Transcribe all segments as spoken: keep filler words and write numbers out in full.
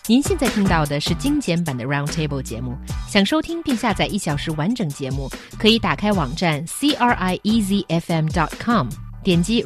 您现在听到的是精简版的 Roundtable 节目。想收听并下载一小时完整节目，可以打开网站 c r i e z f m dot com， 点击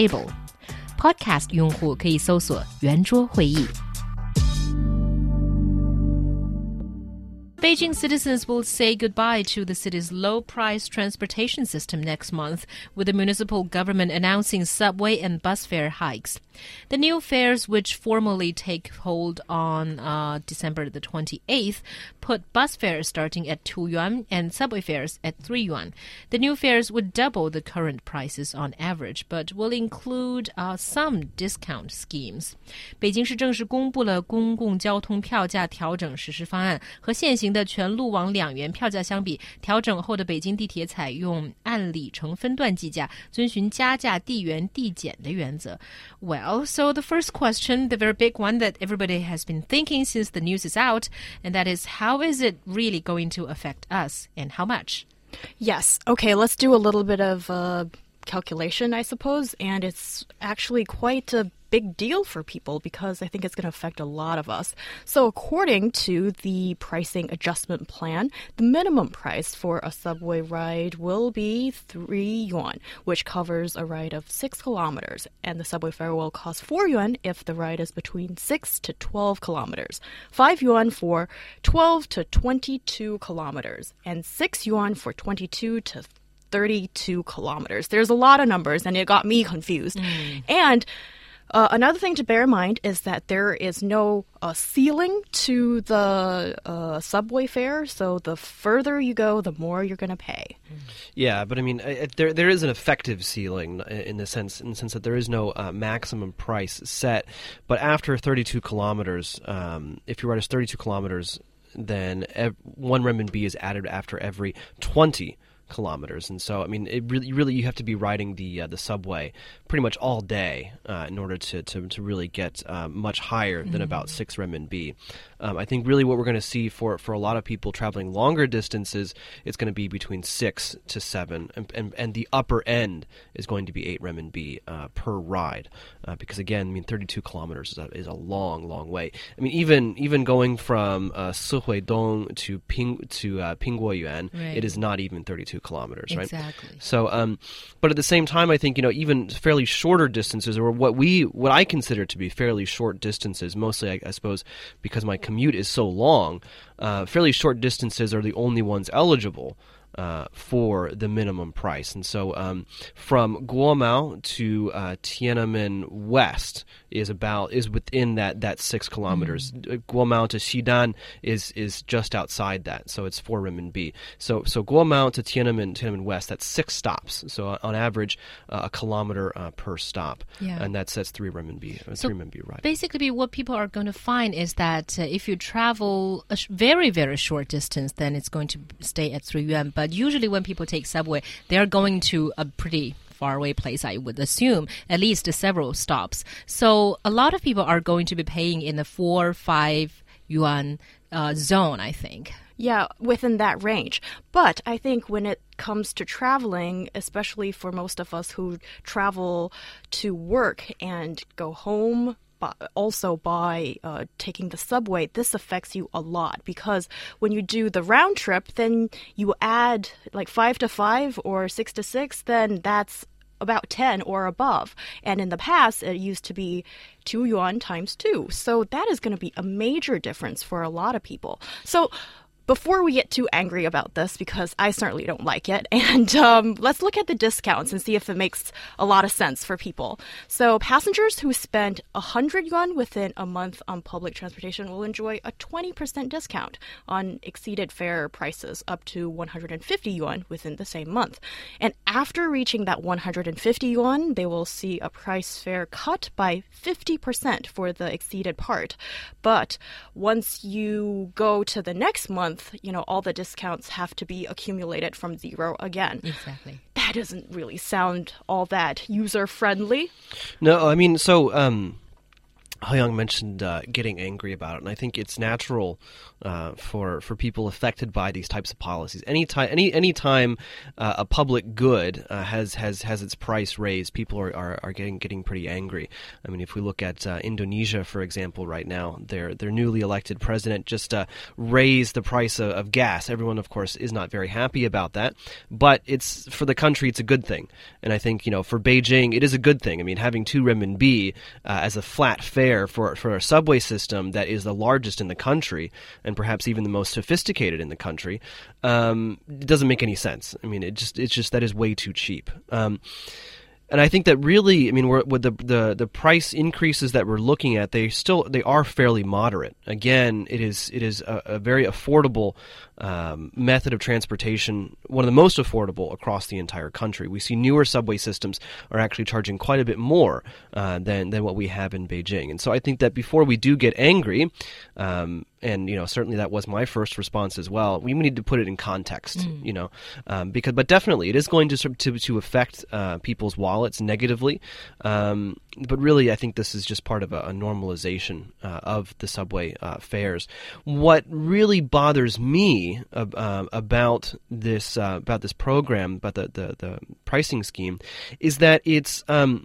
Roundtable。Podcast 用户可以搜索圆桌会议。Beijing citizens will say goodbye to the city's low-price transportation system next month, with the municipal government announcing subway and bus fare hikes. The new fares, which formally take hold on uh, December the twenty-eighth, put bus fares starting at two yuan and subway fares at three yuan. The new fares would double the current prices on average, but will include uh, some discount schemes. 北京市正式公布了公共交通票价调整实施方案，和现行的全路网两元票价相比，调整后的北京地铁采用按里程分段计价，遵循加价递圆递减的原则。Well, so the first question, the very big one that everybody has been thinking since the news is out, and that is, how is it really going to affect us and how much? Yes. Okay, let's do a little bit of uh, calculation, I suppose, and it's actually quite a big deal for people because I think it's going to affect a lot of us. So according to the pricing adjustment plan, the minimum price for a subway ride will be three yuan, which covers a ride of six kilometers. And the subway fare will cost four yuan if the ride is between six to twelve kilometers, five yuan for twelve to twenty-two kilometers, and six yuan for twenty-two to thirty-two kilometers. There's a lot of numbers, and it got me confused. Mm. And Uh, another thing to bear in mind is that there is no uh, ceiling to the uh, subway fare, so the further you go, the more you're going to pay. Yeah, but I mean, uh, there there is an effective ceiling in the sense in the sense that there is no uh, maximum price set. But after thirty-two kilometers, um, if your ride is thirty-two kilometers, then ev- one renminbi is added after every twenty kilometers. And so, I mean, it really, really, you have to be riding the uh, the subway pretty much all day uh, in order to, to, to really get uh, much higher than mm-hmm. about six renminbi. Um, I think really what we're going to see for, for a lot of people traveling longer distances, it's going to be between six to seven, and, and, and the upper end is going to be eight renminbi uh, per ride. Uh, because again, I mean, thirty-two kilometers is a, is a long, long way. I mean, even even going from uh, Sihuidong to Ping to uh, Pingguoyuan, right. It is not even thirty-two kilometers, right? Exactly. So, um, but at the same time, I think, you know, even fairly shorter distances, or what we, what I consider to be fairly short distances, mostly, I, I suppose, because my commute is so long, uh, fairly short distances are the only ones eligible Uh, for the minimum price. And so um, from Guomao to uh, Tiananmen West is about is within that, that six kilometers. Mm-hmm. Guomao to Xidan is is just outside that, so it's four renminbi. So so Guomao to Tiananmen Tiananmen West, that's six stops. So on average, uh, a kilometer uh, per stop, yeah. and that sets three renminbi. Uh, so three renminbi right. Basically, what people are going to find is that uh, if you travel a sh- very very short distance, then it's going to stay at three yuan. But usually when people take subway, they're going to a pretty faraway place, I would assume, at least several stops. So a lot of people are going to be paying in the four, five yuan uh, zone, I think. Yeah, within that range. But I think when it comes to traveling, especially for most of us who travel to work and go home, but also by uh, taking the subway, this affects you a lot because when you do the round trip, then you add like five to five or six to six, then that's about ten or above. And in the past, it used to be two yuan times two. So that is going to be a major difference for a lot of people. So before we get too angry about this, because I certainly don't like it, and um, let's look at the discounts and see if it makes a lot of sense for people. So passengers who spend one hundred yuan within a month on public transportation will enjoy a twenty percent discount on exceeded fare prices up to one hundred fifty yuan within the same month. And after reaching that one hundred fifty yuan, they will see a price fare cut by fifty percent for the exceeded part. But once you go to the next month, you know, all the discounts have to be accumulated from zero again. Exactly. That doesn't really sound all that user-friendly. No, I mean, so... Um Hyung mentioned uh, getting angry about it, and I think it's natural uh, for for people affected by these types of policies. Any time, any any time uh, a public good uh, has has has its price raised, people are, are, are getting getting pretty angry. I mean, if we look at uh, Indonesia, for example, right now, their their newly elected president just uh, raised the price of, of gas. Everyone, of course, is not very happy about that, but it's for the country, it's a good thing. And I think, you know, for Beijing, it is a good thing. I mean, having two renminbi uh, as a flat fare for for a subway system that is the largest in the country and perhaps even the most sophisticated in the country, um, it doesn't make any sense. I mean, it just it's just that is way too cheap. Um, And I think that really, I mean, we're, with the, the the price increases that we're looking at, they still they are fairly moderate. Again, it is it is a, a very affordable um, method of transportation, one of the most affordable across the entire country. We see newer subway systems are actually charging quite a bit more uh, than than what we have in Beijing. And so I think that before we do get angry, um, and you know certainly that was my first response as well, we need to put it in context, mm. you know, um, because but definitely it is going to to to affect uh, people's wallets negatively, um, but really I think this is just part of a, a normalization uh, of the subway uh, fares. What really bothers me uh, about this uh, about this program, about the, the, the pricing scheme, is that it's um,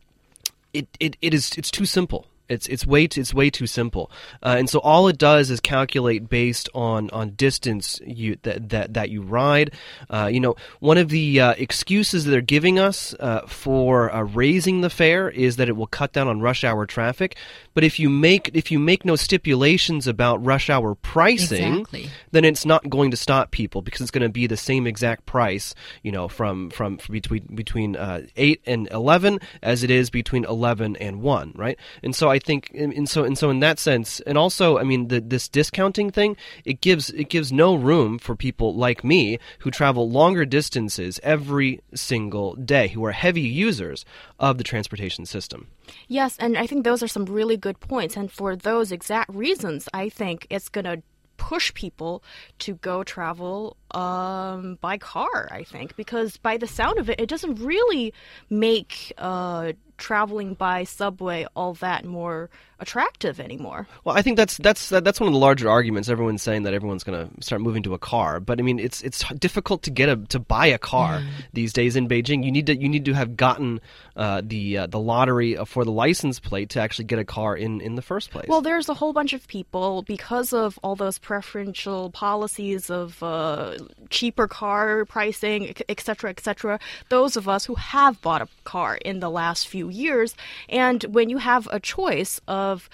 it, it it is it's too simple. It's it's way too, it's way too simple, uh, and so all it does is calculate based on, on distance you that that, that you ride. Uh, you know, one of the uh, excuses that they're giving us uh, for uh, raising the fare is that it will cut down on rush hour traffic. But if you make if you make no stipulations about rush hour pricing, exactly. then it's not going to stop people because it's going to be the same exact price, you know, from from, from between between uh, eight and eleven as it is between eleven and one, right? And so I I think, and so and so in that sense, and also, I mean, the, this discounting thing, it gives it gives no room for people like me who travel longer distances every single day, who are heavy users of the transportation system. Yes, and I think those are some really good points. And for those exact reasons, I think it's going to push people to go travel um, by car, I think, because by the sound of it, it doesn't really make uh, traveling by subway all that more attractive anymore. Well, I think that's that's that's one of the larger arguments. Everyone's saying that everyone's going to start moving to a car, but I mean, it's it's difficult to get a to buy a car mm. these days in Beijing. You need to you need to have gotten uh, the uh, the lottery for the license plate to actually get a car in, in the first place. Well, there's a whole bunch of people, because of all those preferential policies of uh, cheaper car pricing, et cetera, et cetera. Those of us who have bought a car in the last few years, and when you have a choice of of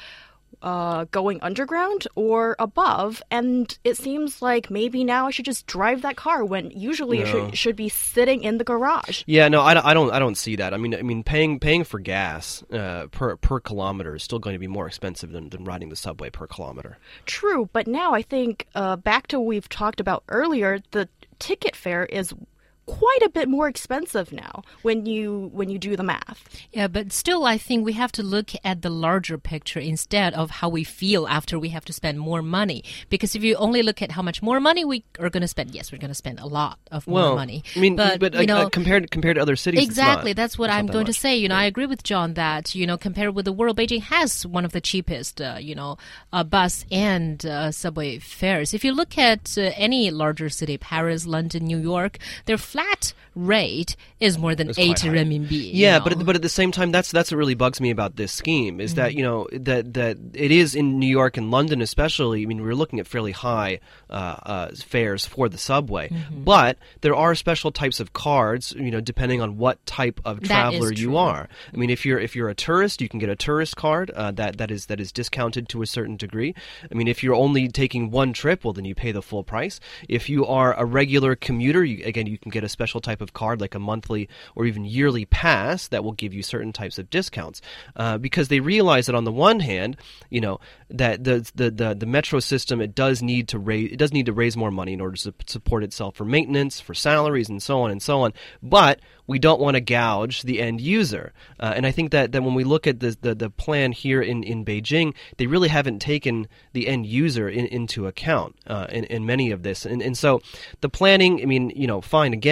uh, going underground or above, and it seems like maybe now I should just drive that car when usually no. it should, should be sitting in the garage. Yeah, no, I, I don't, I don't see that. I mean, I mean, paying paying for gas uh, per per kilometer is still going to be more expensive than, than riding the subway per kilometer. True, but now I think uh, back to what we've talked about earlier, the ticket fare is quite a bit more expensive now when you when you do the math. Yeah, but still I think we have to look at the larger picture instead of how we feel after we have to spend more money. Because if you only look at how much more money we are going to spend, yes, we're going to spend a lot of well, more money. I mean, but, but you know, uh, compared compared to other cities, exactly, it's not, that's what it's I'm not going that to say. You know, yeah. I agree with John that, you know, compared with the world, Beijing has one of the cheapest, uh, you know, uh, bus and uh, subway fares. If you look at uh, any larger city, Paris, London, New York, their flat rate is more than eighty renminbi. Yeah, you know? but at, but at the same time, that's that's what really bugs me about this scheme is mm-hmm. that you know that that it is in New York and London especially. I mean, we're looking at fairly high uh, uh, fares for the subway, mm-hmm. but there are special types of cards. You know, depending on what type of traveler you are. I mean, if you're if you're a tourist, you can get a tourist card uh, that that is that is discounted to a certain degree. I mean, if you're only taking one trip, well, then you pay the full price. If you are a regular commuter, you, again, you can get a special type of card like a monthly or even yearly pass that will give you certain types of discounts uh, because they realize that on the one hand, you know, that the, the the the metro system, it does need to raise it does need to raise more money in order to support itself for maintenance, for salaries, and so on and so on. But we don't want to gouge the end user, uh, and I think that, that when we look at the, the the plan here in in Beijing, they really haven't taken the end user in, into account uh, in in many of this, and and so the planning. I mean, you know, fine. Again.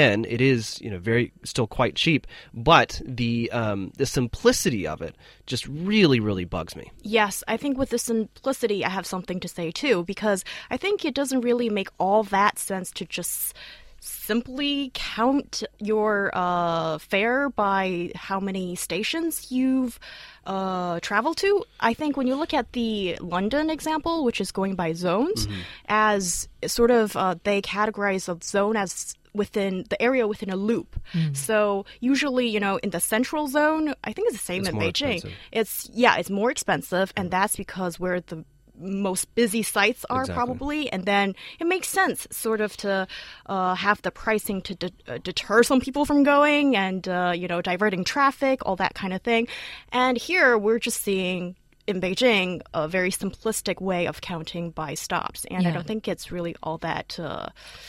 again, it is you know very still quite cheap, but the um, the simplicity of it just really really bugs me. Yes, I think with the simplicity, I have something to say too, because I think it doesn't really make all that sense to just simply count your uh, fare by how many stations you've uh, traveled to. I think when you look at the London example, which is going by zones, mm-hmm. as sort of uh, they categorize a zone as within the area within a loop. Mm. So usually, you know, in the central zone, I think it's the same it's in more Beijing. Expensive. It's yeah, it's more expensive, and that's because where the most busy sites are exactly. probably, and then it makes sense sort of to uh, have the pricing to de- uh, deter some people from going and uh, you know diverting traffic, all that kind of thing. And here we're just seeing in Beijing a very simplistic way of counting by stops, and yeah. I don't think it's really all that uh,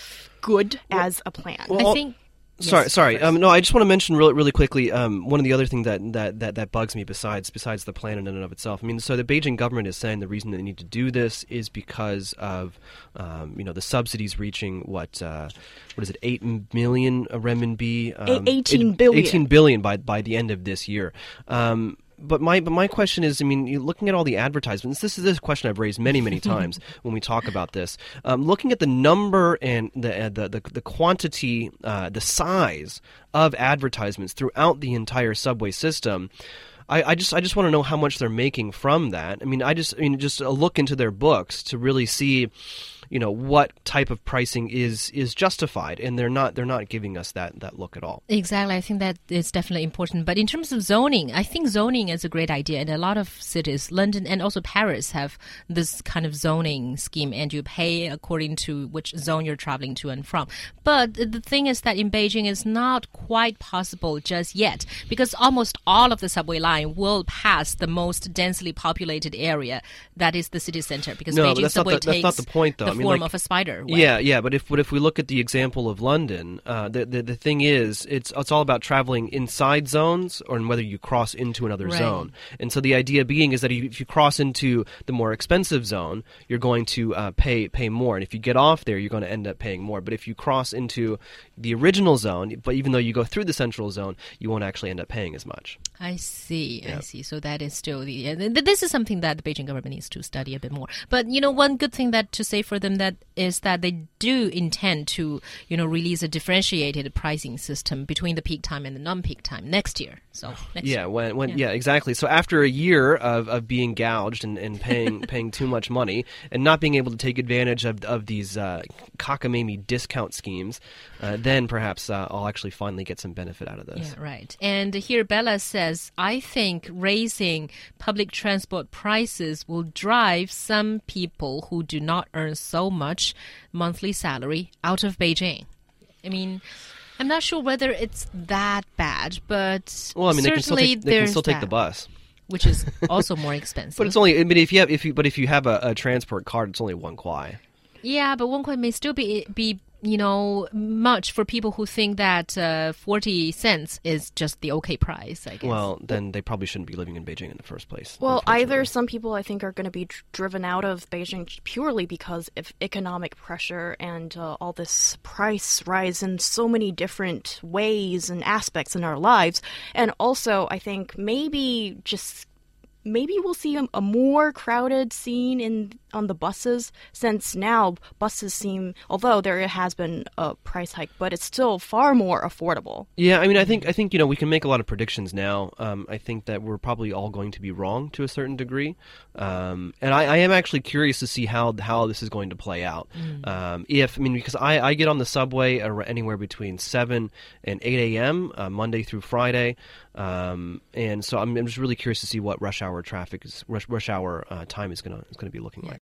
good well, as a plan. Well, I think. Sorry, yes, sorry. Um, no, I just want to mention really, really quickly. Um, one of the other things that, that, that, that bugs me besides besides the plan in and of itself. I mean, so the Beijing government is saying the reason they need to do this is because of, um, you know, the subsidies reaching what uh, what is it, eight million renminbi? Um, eighteen billion. Eighteen billion by by the end of this year. Um, But my but my question is, I mean, you looking at all the advertisements, this is this question I've raised many many times when we talk about this. Um, looking at the number and the uh, the, the the quantity, uh, the size of advertisements throughout the entire subway system, I, I just I just want to know how much they're making from that. I mean, I just I mean just a look into their books to really see, you know, what type of pricing is is justified, and they're not they're not giving us that that look at all. Exactly, I think that is definitely important. But in terms of zoning, I think zoning is a great idea, and a lot of cities, London and also Paris, have this kind of zoning scheme, and you pay according to which zone you're traveling to and from. But the thing is that in Beijing, it's not quite possible just yet, because almost all of the subway line will pass the most densely populated area, that is the city center, because no, Beijing but that's subway not the, takes that's not the point, though. the I mean, form like, of a spider web. Yeah, yeah, but if but if we look at the example of London, uh, the, the the thing is, it's it's all about traveling inside zones or whether you cross into another right. zone. And so the idea being is that if you cross into the more expensive zone, you're going to uh, pay pay more, and if you get off there, you're going to end up paying more. But if you cross into the original zone, but even though you go through the central zone, you won't actually end up paying as much. I see, yeah. I see. So that is still the. Uh, th- this is something that the Beijing government needs to study a bit more. But you know, one good thing that to say for them that is that they do intend to, you know, release a differentiated pricing system between the peak time and the non-peak time next year. So next yeah, year. when when yeah. yeah, exactly. So after a year of, of being gouged and, and paying paying too much money and not being able to take advantage of of these uh, cockamamie discount schemes, uh, then perhaps uh, I'll actually finally get some benefit out of this. Yeah, right. And here Bella says, I think raising public transport prices will drive some people who do not earn so much monthly salary out of Beijing. I mean, I'm not sure whether it's that bad, but well, I mean, they can still certainly take, they can still take that, the bus, which is also more expensive. but it's only. I mean, if you have if you but if you have a, a transport card, it's only one kuai. Yeah, but one kuai may still be be. you know, much for people who think that uh, forty cents is just the okay price, I guess. Well, then they probably shouldn't be living in Beijing in the first place. Well, either some people I think are going to be dr- driven out of Beijing purely because of economic pressure and uh, all this price rise in so many different ways and aspects in our lives. And also, I think maybe just maybe we'll see a, a more crowded scene in on the buses, since now buses seem, although there has been a price hike, but it's still far more affordable. Yeah, I mean, I think I think you know we can make a lot of predictions now. Um, I think that we're probably all going to be wrong to a certain degree, um, and I, I am actually curious to see how how this is going to play out. Mm. Um, if I mean, because I, I get on the subway anywhere between seven and eight a.m. Uh, Monday through Friday, um, and so I'm, I'm just really curious to see what rush hour traffic is rush, rush hour uh, time is gonna is gonna be looking yeah. like.